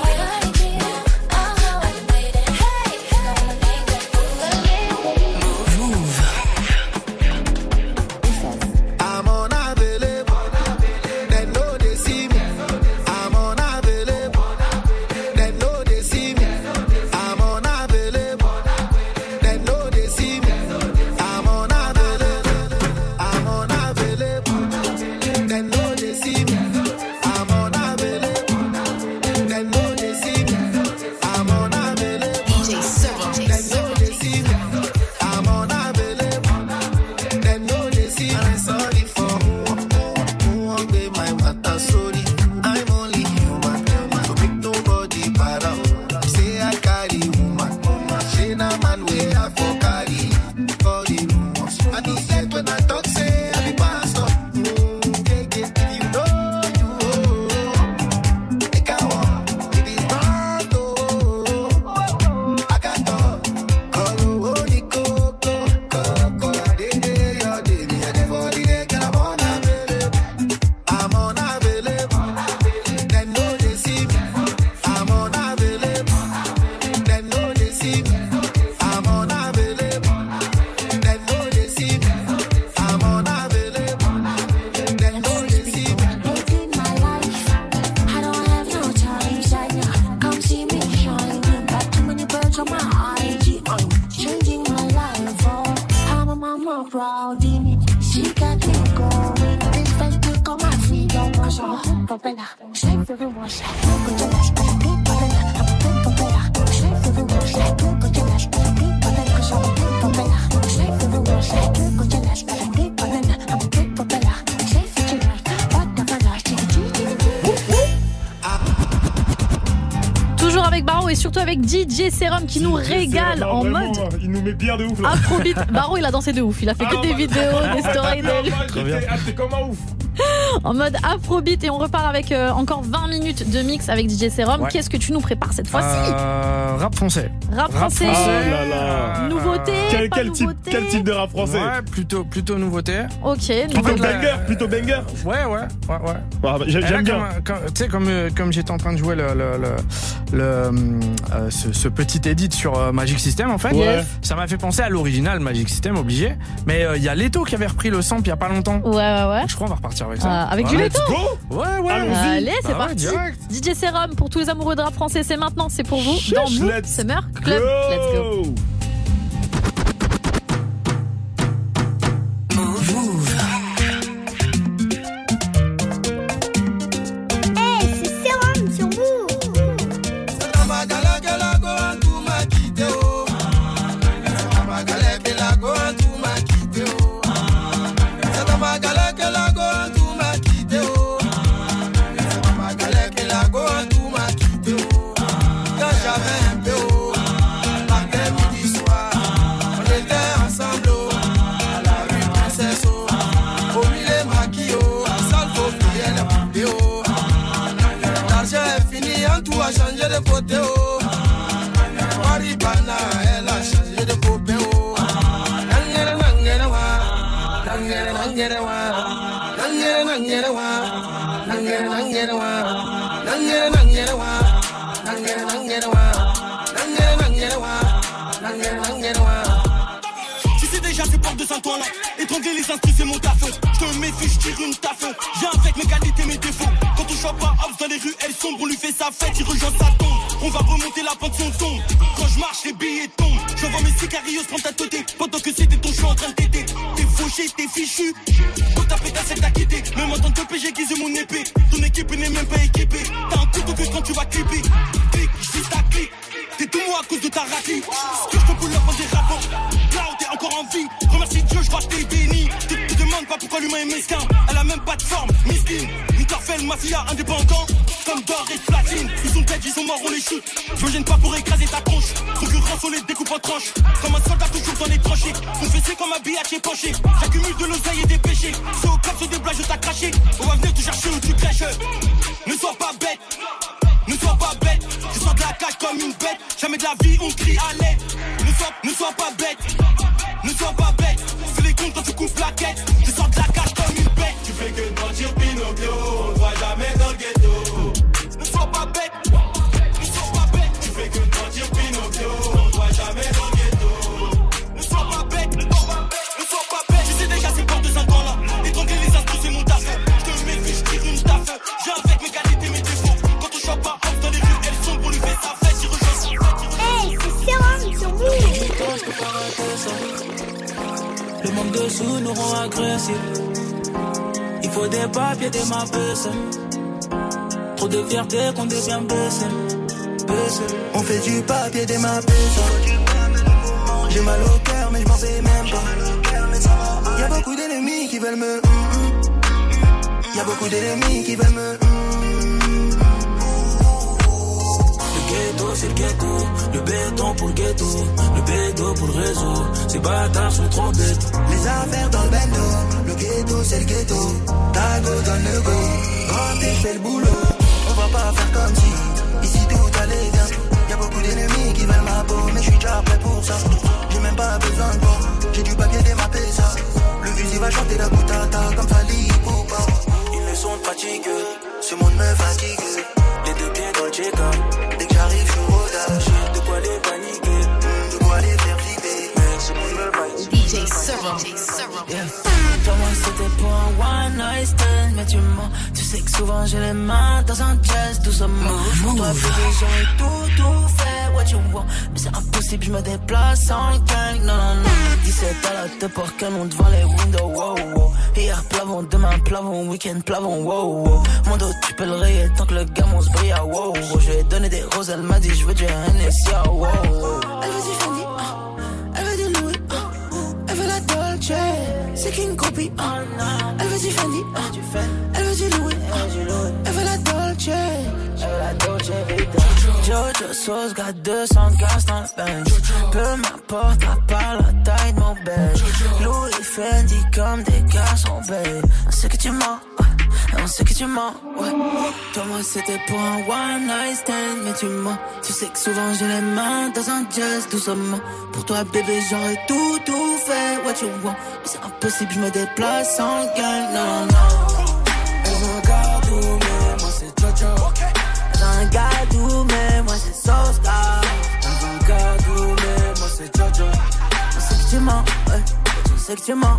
Move surrounding. She got me going. Big friend to come and feed on my soul. Propeller, shape for the wash. Look at the big propeller. Big propeller, shape for the wash. Look at the big propeller. So big propeller, shape for the wash. Look at the big propeller. Big propeller, shape for the wash. What the fuck? Toujours avec Baro et surtout avec DJ Serum qui nous régale en mode. Il nous met bien de ouf là. Afrobeat. Baro, il a dansé de ouf. Il a fait que des vidéos, des stories d'elle. C'est comme un ouf. En mode Afrobeat et on repart avec encore 20 minutes de mix avec DJ Serum. Ouais. Qu'est-ce que tu nous prépares cette fois-ci? Rap français. Rap français. Oh là là. Nouveauté. Quel type de rap français? Ouais, plutôt nouveauté. Ok. Plutôt banger. Ouais. Ah, j'aime bien. Tu sais, comme j'étais en train de jouer ce petit edit sur Magic System, en fait, ça m'a fait penser à l'original Magic System, obligé. Mais il y a Leto qui avait repris le sample il y a pas longtemps. Ouais. Je crois qu'on va repartir avec ça. Avec du Leto. Ouais. Allez, c'est parti. Direct. DJ Serum pour tous les amoureux de rap français, c'est maintenant, c'est pour vous. Dans Move Summer Club. Let's go. Changer de côté, oh. Maribana, elle a changé de côté, oh. Tu sais déjà ces portes de Saint-Ouen là. Étrangler les instrus c'est mon taf. Je te méfie, je tire une taf. Viens avec mes qualités, mes défauts. Quand on chope pas house dans les rues, elles sombres. On lui fait sa fête, il rejoint sa tombe. On va remonter la pente, son tombe. Quand je marche, les billets tombent. J'envoie mes sicarios prendre ta teuté. Pendant que c'était ton choix en train de t'aider. T'es fauché, t'es fichu. Quand ta pétasse, elle t'a quitté. Même en tant que PG, j'aiguise mon épée. Ton équipe n'est même pas équipée. T'as un couteau que quand tu vas clipper. Clic, juste ta clic. T'es tout moi à cause de ta raclée. Ce que je te boule là des rapports. Là où t'es encore en vie. Remercie Dieu, je crois que t'es béni. Tu te demandes pas pourquoi l'humain est mesquin. Elle a même pas de forme, miskin. Interfell, mafia, indépendant. Comme d'or et de platine. Ils sont dead, ils sont morts, on les shoot. Je me gêne pas pour écraser ta tronche. Concurrence, on les découpe en tranches. Comme un soldat toujours dans les tranchées. Confessé comme un billard qui est penché. J'accumule de l'oseille et des péchés. C'est au cap, sur des blagues, je t'ai craché. On va venir te chercher où tu crèches. Ne sois pas bête. Ne sois pas bête, je sors de la cage comme une bête. Jamais de la vie on crie à l'aide. Ne sois pas bête, ne sois pas bête. Fais les comptes quand tu coupes la quête. Je sors de la cage comme une bête. Tu fais que mentir Pinocchio, on ne voit jamais dans le ghetto. Ne sois pas bête, ne sois pas bête. Tu fais que mentir Pinocchio, on ne voit jamais dans le ghetto. Ne sois pas bête, ne sois pas bête. Tu sais déjà c'est portes de 5 ans là. Étrangler les astres c'est mon taf. Je te méfie, je tire une taf. J'ai avec mes qualités, mes défauts. Pas off dans les rues, elles sont pour lui faire sa fête. Il rejoint son fête. Hey, c'est Serum sur vous. Le manque de sous nous rend agressifs. Il faut des papiers, des ma baisse. Trop de fierté qu'on devient baissé. On fait du papier, des ma baisse. J'ai mal au cœur, mais je m'en fais même pas. Y'a beaucoup d'ennemis qui veulent me. Y'a beaucoup d'ennemis qui veulent me. C'est le ghetto, le béton pour le ghetto, le béton pour le réseau. Ces bâtards sont trop bêtes. Les affaires dans le bendo, le ghetto c'est le ghetto. Tago donne le go, quand t'es fait le boulot. On va pas faire comme si, ici tout allait bien. Y'a beaucoup d'ennemis qui veulent ma peau, mais je suis déjà prêt pour ça. J'ai même pas besoin de bon, j'ai du papier démappé ça. Le fusil va chanter la boutata comme Fali Poupa. Ils me sont fatigués, ce monde me fatigue. Les deux pieds dans le check-up. Dès que j'arrive, je suis rodage. De quoi les paniquer, de quoi les faire flipper. Mais ce monde me va. DJ Serum. Toi, moi, c'était pour un one night stand. Mais tu mens, tu sais que souvent j'ai les mains dans un chest, doucement. Pour toi, plus de gens et tout fait what you want. Mais c'est impossible, je me déplace en gang. Non. Dis 17 à la tête par canon devant les windows, wow, wow. Hier plavon, demain plavon, week-end plavon, wow, wow. Mon dos tu peux le rayer tant que le gamin se brille, wow, wow. Je lui ai donné des roses, elle m'a dit je veux du Hennessy, wow, wow. Elle veut du Fendi, elle veut du Louis, elle veut la Dolce, c'est King Copy, elle veut du Fendi, elle veut du Louis, elle veut la Dolce, elle veut la Dolce Vita. Jojo Sauce, got 200 gaz dans le bench. Peu m'importe, à part la taille de mon belge. Louis Fendi comme des garçons belges. On sait que tu mens, on sait que tu mens, ouais. Toi moi c'était pour un one night stand, mais tu mens. Tu sais que souvent j'ai les mains dans un jazz doucement. Pour toi bébé j'aurais tout fait, what you want. Mais c'est impossible, je me déplace en gang, non, non. Elle veut un gardou, mais moi c'est Jojo. Elle veut un gardou, mais moi c'est Sauce God. Elle veut un gardou, mais moi c'est Jojo. Je sais que tu mens, ouais, je sais que tu mens.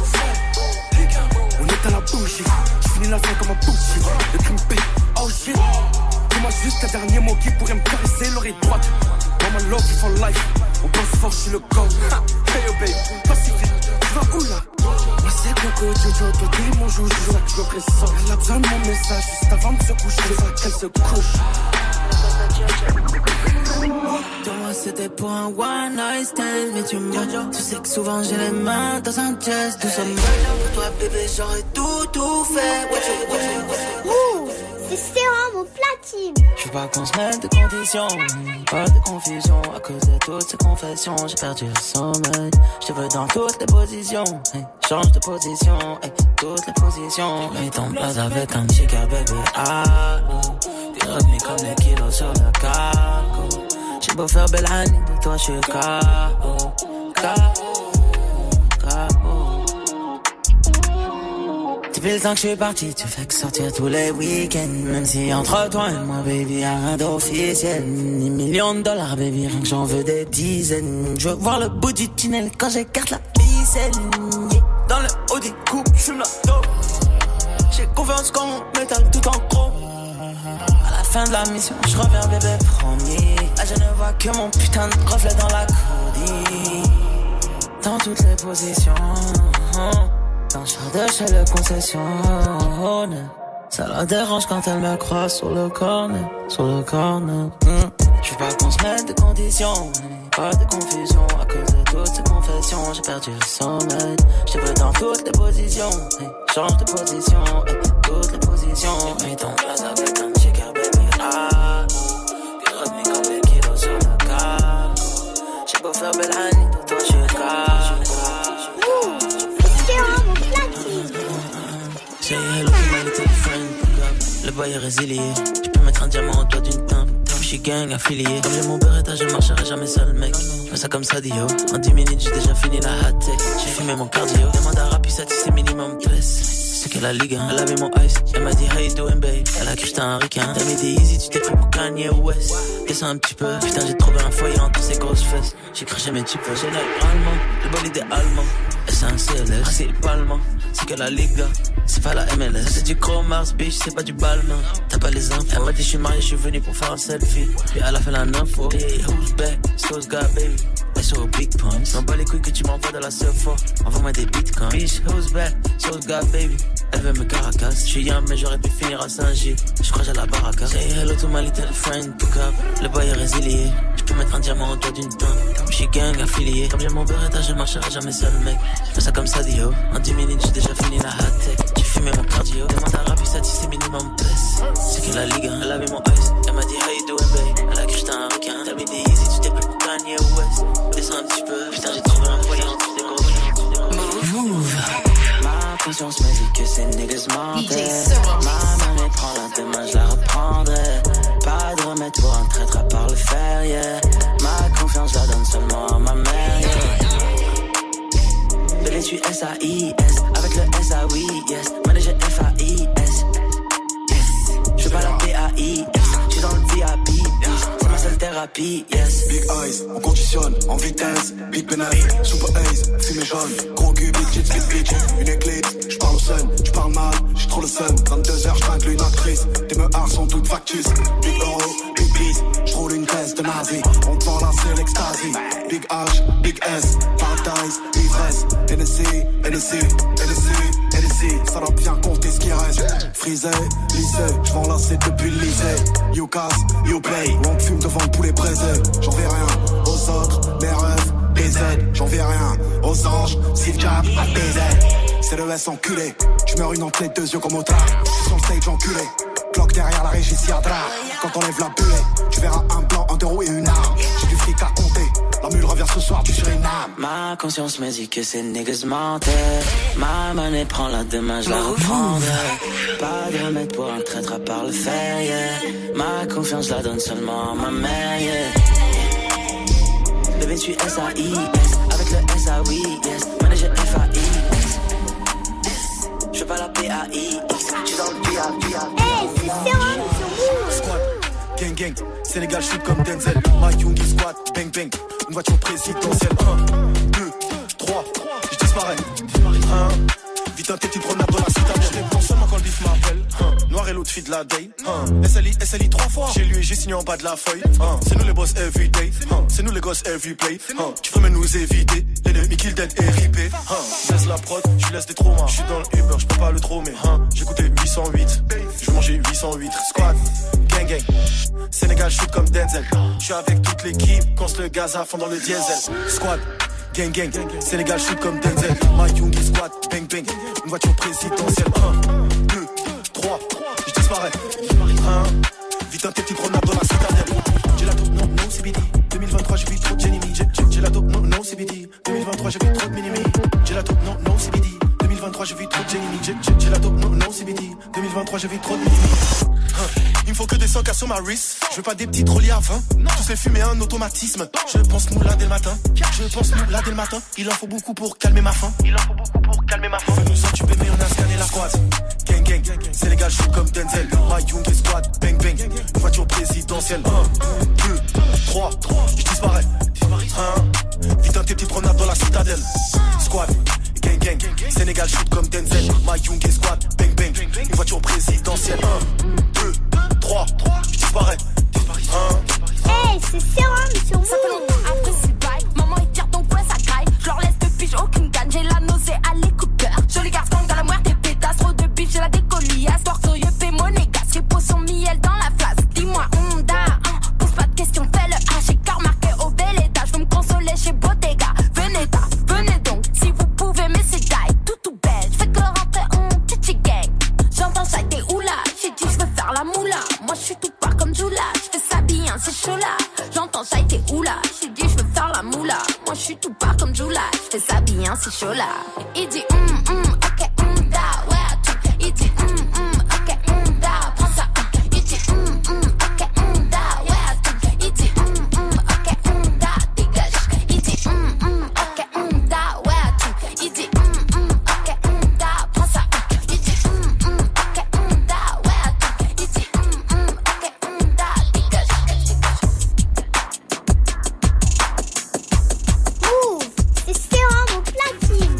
On est à la bougie, je finis la fin comme un bougie. Le crime paye, oh shit. Dis-moi juste un dernier mot qui pourrait me caresser l'oreille droite. Dans ma love for life, on pense fort, je suis le gang. Hey oh babe, pacifique, tu vas où là? Moi c'est Coco Jojo, toi t'es mon joujou. C'est ça que je me pressens. Elle a besoin de mon message juste avant de se coucher. C'est ça qu'elle se couche. Toi moi c'était pour un one night stand, mais tu mens. Tu sais que souvent j'ai les mains dans un jazz doucement. Pour toi bébé j'aurais tout fait. C'est Serum au platine. Je veux pas qu'on se mette de conditions, pas de confusion. À cause de toutes ces confessions, j'ai perdu le sommeil. Je te veux dans toutes les positions, hey, change de position, hey, toutes les positions. Mets ton place avec un chica bébé, allô. T'es revenu comme les kilos sur le cargo. J'ai beau faire belle année, de toi je suis KO, Depuis le temps que je suis parti, tu fais que sortir tous les week-ends. Même si entre toi et moi, baby, y'a rien d'officiel. Ni millions de dollars, baby, rien que j'en veux des dizaines. Je veux voir le bout du tunnel quand j'écarte la ficelle. Dans le haut des coupes, j'fume la dope. J'ai confiance quand mon métal tout en gros. À la fin de la mission, je reviens bébé premier. Là je ne vois que mon putain de reflet dans la codie. Dans toutes les positions. Dans le char de chez le concessionnaire. Ça la dérange quand elle me croise sur le corner. Je veux pas qu'on se mette de conditions, pas de confusion. À cause de toutes ces confessions, j'ai perdu le sommeil. Je te veux dans toutes les positions, change de position, toutes les positions. Mets ton place avec un chica baby, ah. T'es revenu comme les kilos sur le cargo. J'ai beau faire belle année, de toi je suis Say hello to my little friend. Le boy est résilié. Je peux mettre un diamant au doigt d'une teinte. Je suis gang affilié. Comme j'ai mon beretta, je marcherai jamais seul, mec. Je fais ça comme ça, Dio. En 10 minutes, j'ai déjà fini la hot tech. J'ai fumé mon cardio. Demande à Rapi, ça c'est minimum plus. C'est qu'elle a ligue, hein. Elle avait mon ice. Elle m'a dit, how you doing, babe? Elle a cru que j'étais un ricain. T'as mis des easy, tu t'es pris pour Kanye West. Descends un petit peu. Putain, j'ai trouvé un foyer entre ces grosses fesses. J'ai craché mes types. Généralement, le bolide est allemand. Et c'est un CLS. Principalement, c'est que la Liga. C'est pas la MLS. C'est du Chrome Mars, bitch, c'est pas du Balmain. T'as pas les infos. Elle m'a dit, je suis marié, je suis venu pour faire un selfie. Puis elle a fait la info. Hey, who's back? Sauce God, baby. SO big pumps. M'en bats les couilles que tu m'envoies de la surf. Envoie-moi des bitcoins. Bitch, who's back? Sauce God, baby. Elle veut me caracasse. J'suis young, mais j'aurais pu finir à Saint-Gilles. J'crois j'ai la baraka. Say hello to my little friend, pick up. Le boy est résilié. J'peux mettre un diamant au doigt d'une teinte. J'suis gang affilié. Comme j'ai mon beretta, je marcherai jamais seul, mec. J'fais ça comme ça, Dio. En 10 minutes, j'ai déjà fini la hot tech. J'ai fumé mon cardio. Demande à Rapi, ça c'est minimum plus. C'est que la ligue, hein. Elle avait mon ice. Elle m'a dit, how you doing, babe? Elle a cru que j'étais un requin. T'as mis des easy, tu t'es pris pour Kanye West. Descends un petit peu. Putain, j'ai trouvé un foyer entre des gros. Move. Ma conscience me dit que ces niggas mentaient. Ma main les prend la demain, je la reprendrai. Pas de remède pour un traître à part le fer, yeah. Ma confiance, je la donne seulement à ma mère, yeah. Bébé, je suis S-A-I-S. Avec le S-A-Oui, yes. Manager F-A-I-S. Je veux pas la P-A-I-S. Je suis dans le VIP, c'est ma seule thérapie, yes. Big eyes, on conditionne en vitesse. Big penis, super ace, fumée jaune. Gros cul, big tits, big bitch. Une éclipse, j'parle au sun, j'parle mal, j'ai trop le sun. 22h, j'tringle une actrice. Tes meurs sont toutes factices. Big euro, big peace, j'roule une caisse de nazi. On te vend là, c'est l'extasie. Big H, big S, paradise, ça doit bien compter ce qui reste. Frisé, lissé, j'vends lasser depuis le lycée. You casse, you play, on fume devant le poulet braisé. J'en vais rien aux autres, mes rêves, des aides. J'en vais rien aux anges, s'ils jab à baiser. C'est le S enculé, tu meurs une entrée, 2 yeux comme au tard. Sur le stage enculé, cloque derrière la régie Siadra. Quand on lève la bulle, tu verras un blanc, un euro et une arme. J'ai du fric à compter, la mule revient ce soir du Suriname. Ma conscience me dit que ces niggas mentaient. Ma monnaie prend la demain, je la reprendrai. Pas de remède pour un traître à part le fer, yeah. Ma confiance la donne seulement à ma mère, yeah. Le 28 S-A-I-S, avec le S-A-Oui, yes. Manager F-A-I-S. Je pas la P-A-I-X, j'suis dans le P-A-P-A. Hey, c'est Serum sur vous. Squad, gang gang, Sénégal shoot comme Denzel. Mike Young squad, bang bang. Une voiture présidentielle, 1, 2, 3, je disparais. 1, vite un tête, une promenade dans la citadelle. Je réponds seulement quand le bif m'appelle. Noir et l'autre fille de la day. SLI 3 fois. J'ai lu et j'ai signé en bas de la feuille. C'est nous les boss everyday. C'est nous les gosses every play. Tu veux même nous éviter. L'ennemi kill dead et ripé. Je laisse la prod, je laisse des traumas. Je suis dans le Uber, je peux pas le trommer. J'ai goûté 808. Je vais manger 808. Squad, gang gang. Sénégal shoot comme Denzel. Je suis avec toute l'équipe, quand le gaz à fond dans le diesel. Squad, gang gang, Sénégal shoot comme Denzel. My Young squad, bang bang. Une voiture présidentielle. 1, 2, 3, je disparais. 1, vite un petit promenade dans la citadelle. J'ai la dope, non, non, CBD. 2023, j'ai vu trop de Jenny. J'ai la dope, non, non, CBD. 2023, j'ai vu trop de Minimi. J'ai la dope, non, non, CBD. 2023, j'ai vu trop de Jenny. J'ai la dope, non, non, CBD. 2023, j'ai vu trop de Minimi. Il me faut que des 100K sur ma wrist. Je veux pas des petits trolliers à 20. Tous les fumer un automatisme. Je pense moula dès le matin. Il en faut beaucoup pour calmer ma faim. Fais nous occuper mais on a scanné la squad. Gang gang, c'est les gars shoot comme Denzel. My Young squad, bang bang. Une voiture présidentielle. 1, 2, 3, je disparais. 1, vite un petit promenade dans la citadelle. Squad, gang gang, Sénégal shoot comme Denzel. My Young squad, bang bang. Une voiture présidentielle. 1, 2, 3, je disparais. 1. Hey, c'est Serum sur vous. Ça fait longtemps après c'est bail. Maman est tire donc ouais ça graille. Je leur laisse de pige, aucune gagne. J'ai la nausée à l'écouteur. Joli garçon dans la moire des pétasses. Trop de biche, j'ai la décoliasse. Torsoyeux, fais monégasque. Repose son miel dans la flasque. Dis-moi, Honda, pose pas de questions, fais le H. J'ai car marqué au bel étage. Je veux me consoler chez Bottega. Venez donc, si vous pouvez, mais c'est die. Tout belle, je fais que rentrer en titi gang. J'entends ça, t'es oula. J'ai dit, je veux faire la moula. Moi, je suis tout pas comme Jula. Je fais ça bien, c'est chaud là. J'entends ça, t'es oula. J'ai dit, je veux faire la moula. Moi, je suis tout pas comme Jula. Je fais ça bien, c'est chaud là. Il dit, ok, da, ouais, à tout. Il dit, ok, da, prends ça. Il dit, ok, da, ouais, à tout. Il dit, ok, da, dégage. Il dit, ok, da, ouais, à tout. Il dit, ok, da, prends ça. Il dit, ok, da, ouais, à tout. Il dit, ok, da, dégage. Move, c'est Serum au platine.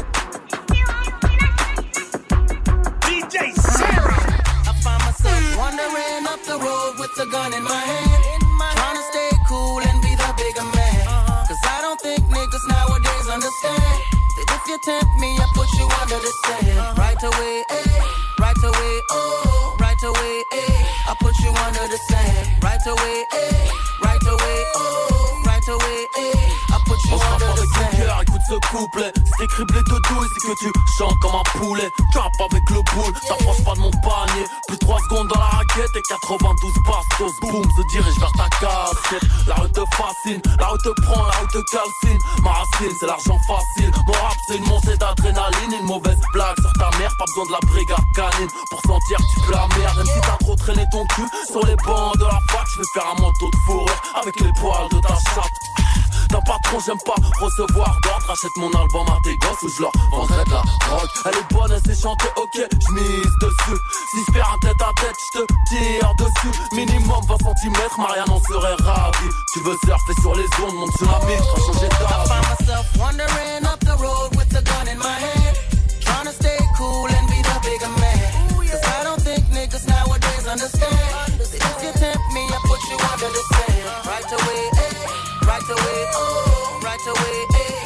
DJ Sarah. I find myself wandering up the road with a gun in my hand. Trying to stay cool and be the bigger man. Cause I don't think niggas nowadays understand that if you tempt me, I put you under the sand. Right away, eh, right away, oh, right away, eh, I put you under the sand. Right away, eh, right away, oh, right away, eh, I put you under the sand. Écoute ce couplet, c'est criblé de douille, c'est que tu chantes comme un poulet. Tu rappes avec le boule, t'approches pas de mon panier. Plus 3 secondes dans la raquette et 92 bastos. Boum, se dirige vers ta cassette. La rue te fascine, la rue te prend, la rue te calcine. Ma racine, c'est l'argent facile. Mon rap, c'est une montée d'adrénaline. Une mauvaise blague sur ta mère, pas besoin de la brigade canine pour sentir que tu peux la merde. Même si t'as trop traîné ton cul sur les bancs de la fac, je vais faire un manteau de fourrure avec les poils de ta chatte. D'un patron, j'aime pas recevoir d'ordre. Achète mon album à tes gosses ou je leur vendrai de la drogue. Elle est bonne, elle sait chanter, ok, j'mise dessus. Si je perds un tête à tête, je te tire dessus. Minimum 20 cm, Marianne en serait ravie. Tu veux surfer sur les ondes, mon tsunami, t'as changé I d'âge. find myself wandering up the road with a gun in my hand. Trying to stay cool and be the bigger man. Cause I don't think niggas nowadays understand that if you tempt me, I put you under the sand. Right away, eh, right away, oh, right away, eh, I put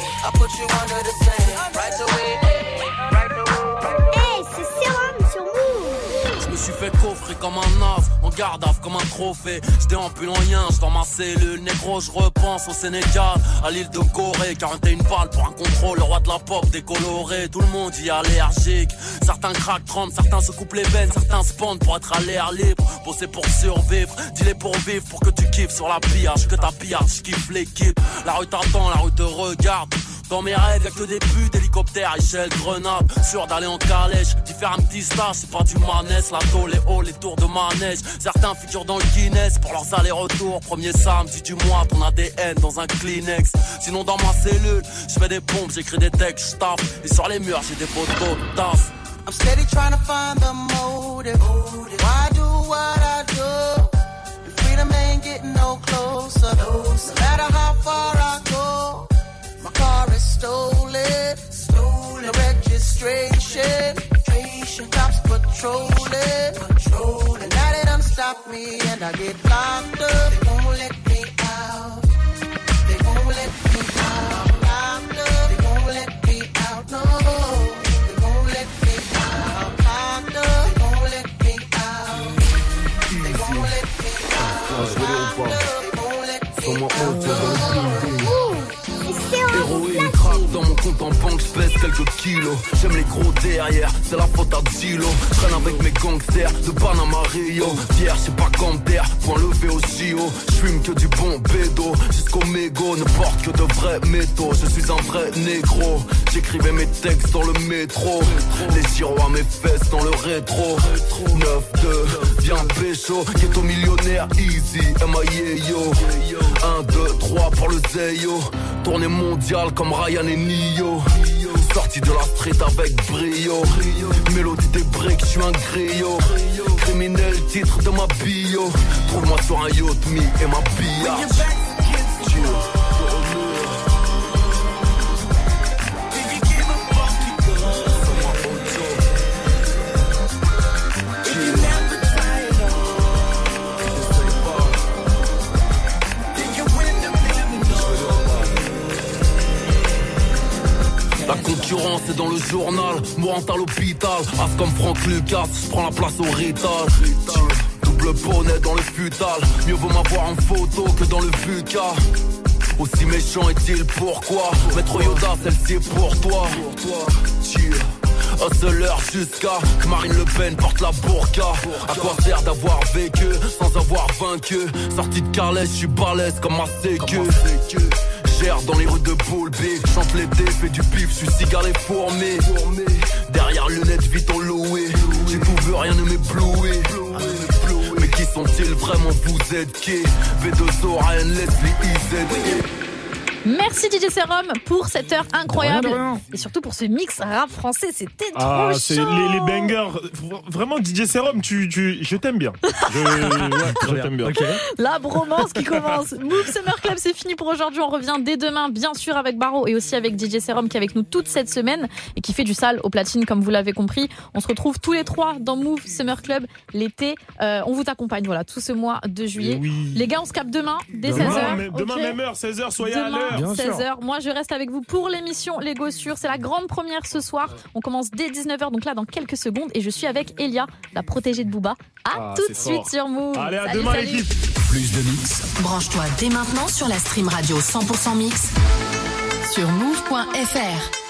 put you under the sand. Right away, right away. Hey, c'est Sérum sur Move. Je me suis fait coffrer comme un as, en garde à comme un trophée. J'étais en pull en yin, j'suis dans ma cellule. Négro, je repense au Sénégal, à l'île de Corée. 41 balles pour un contrôle, le roi de la pop décoloré. Tout le monde y est allergique. Certains craquent, tremblent, certains se coupent les veines. Certains se pendent pour être à l'air libre. Bosser pour survivre, dis-les pour vivre. Pour que tu kiffes sur la pillage, que ta pillage, j'kiffe l'équipe. La rue t'attend, la rue te regarde. Dans mes rêves, y'a que des buts, hélicoptères, échelle, grenade. Sûr d'aller en calèche, d'y faire un petit stage, c'est pas du manès. La tôle, les halls, les tours de manège. Certains figurent dans le Guinness pour leurs allers-retours. Premier samedi du mois, ton ADN dans un Kleenex. Sinon dans ma cellule, je fais des pompes, j'écris des textes, j'tape. Et sur les murs, j'ai des photos de tasse. I'm steady trying to find the motive. Why do what I do? And freedom ain't getting no closer. No matter how far I go. My car is stolen. The registration. Cops patrolling. And now they done stop me and I get locked up. They won't let me out. They won't let me out. Locked up. They won't let me out. No. They won't let me out. Locked up. They won't let me out. They won't let me out. Locked up. They won't let me out. Héroïne craque dans mon compte en banque, j'pèse quelques kilos. J'aime les gros derrière, c'est la faute à Dilo. J'traîne avec mes gangsters de Panama Rio. Hier, j'sais pas comme terre, point levé au JO. J'fume que du bon bédo, jusqu'au mégot. Ne porte que de vrais métaux, je suis un vrai négro. J'écrivais mes textes dans le métro. Les gyros à mes fesses dans le rétro. 9-2, viens pécho. Ghetto millionnaire, easy, M.I.A.Yo. 1, 2, 3 pour le Zeyo. Tournée mondiale comme Ryan et Nio. Sorti de la street avec brio. Mélodie des breaks, j'suis un griot. Criminel, titre de ma bio. Trouve-moi sur un yacht, me et ma billard. La concurrence est dans le journal, mourant à l'hôpital. As comme Franck Lucas, j'prends la place au rital. Double bonnet dans le futal, mieux vaut m'avoir en photo que dans le VUCA. Aussi méchant est-il, pourquoi? Maître Yoda, celle-ci est pour toi. Hustler jusqu'à que Marine Le Pen porte la burqa. À quoi sert d'avoir vécu sans avoir vaincu? Sorti de Carlès, j'suis balèze comme ma sécu. Gère dans les rues de Boulby, chante l'été, fais du pif, j'suis cigare et fourmi. Derrière lunettes, vite en loué. J'ai tout vu, rien ne m'éblouit. Mais qui sont-ils vraiment, vous êtes qui? V2O, Ryan, Leslie, IZ. Merci DJ Serum pour cette heure incroyable et surtout pour ce mix rap français, c'était trop c'est chaud. Les bangers, vraiment DJ Serum, je t'aime bien. Je t'aime bien. Okay. La bromance qui commence. Move Summer Club, c'est fini pour aujourd'hui. On revient dès demain, bien sûr, avec Baro et aussi avec DJ Serum qui est avec nous toute cette semaine et qui fait du sale au platine, comme vous l'avez compris. On se retrouve tous les trois dans Move Summer Club l'été. On vous accompagne, voilà, tout ce mois de juillet. Oui. Les gars, on se capte demain dès 16h. Demain, même heure, 16h, soyez à l'heure. 16h. Moi, je reste avec vous pour l'émission Les Gossures. C'est la grande première ce soir. On commence dès 19h, donc là, dans quelques secondes. Et je suis avec Elia, la protégée de Booba. À tout de suite sur Move. Allez, à demain, l'équipe. Plus de mix. Branche-toi dès maintenant sur la stream radio 100% mix sur move.fr.